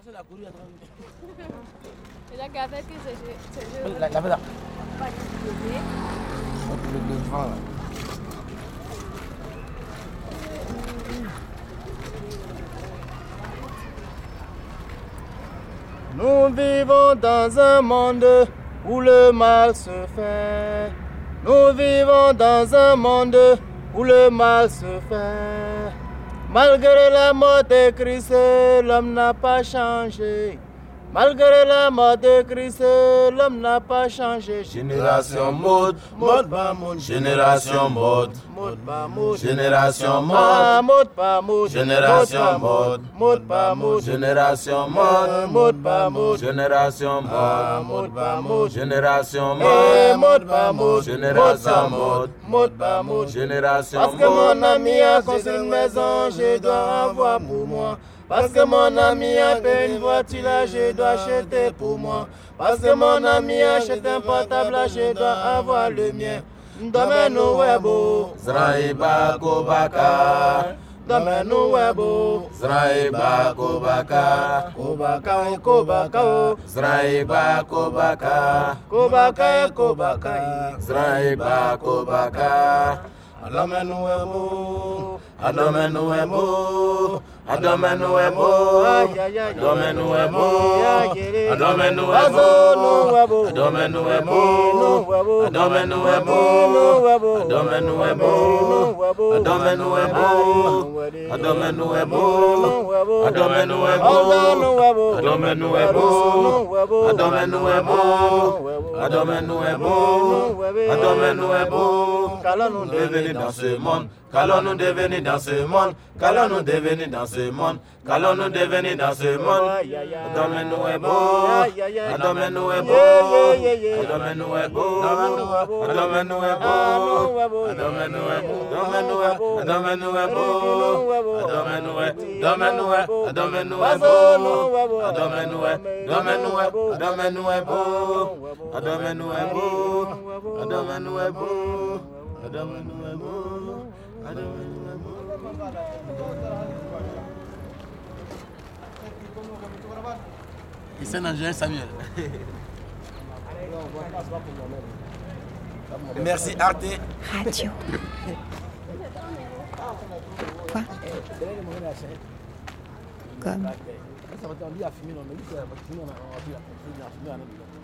Et la gavette que c'est... La gavette là. Le vent là. Nous vivons dans un monde où le mal se fait. Nous vivons dans un monde où le mal se fait. Malgré la mort de Christ, l'homme n'a pas changé. Malgré la mort de Christ, l'homme n'a pas changé. Génération mode, mode pas mode. Génération mode, mode pas mode. Génération mode, mode pas mode. Génération mode, mode pas mode. Génération mode, mode pas mode. Génération mode, mode pas mode. Génération mode, mode pas mode. Génération mode, mode pas mode. Génération parce que mon ami a construit une maison, je dois avoir pour moi. Parce que mon ami a payé une voiture, là, je dois acheter pour moi. Parce que mon ami achète un portable, là, je dois avoir le mien. Domaine webo, Zraïba Kobaka. Domaine webo, Zraïba Kobaka. Kobaka et Kobaka. Zraïba Kobaka. Kobaka et Kobaka. Zraïba Kobaka. Domaine webo, Domaine webo. Domaine webo, domaine webo, domaine webo, domaine webo, domaine webo, domaine webo, domaine webo, domaine webo, domaine webo, domaine webo, domaine webo, domaine webo, domaine webo. Qu'allons-nous devenir dans ce monde? Qu'allons-nous devenir dans ce monde? Qu'allons-nous devenir dans ce monde? Qu'allons-nous devenir dans ce monde? Domaine-nous est beau, domaine-nous est beau, domaine-nous est beau, domaine-nous est beau, domaine-nous est beau, domaine-nous est beau, domaine-nous est beau, domaine-nous est, domaine-nous est beau, domaine-nous est, domaine-nous est, domaine-nous est beau, domaine-nous est beau, domaine-nous est beau, domaine-nous est beau. Il s'est nagé Samuel. Merci Arte. Radio. Quoi? Comme.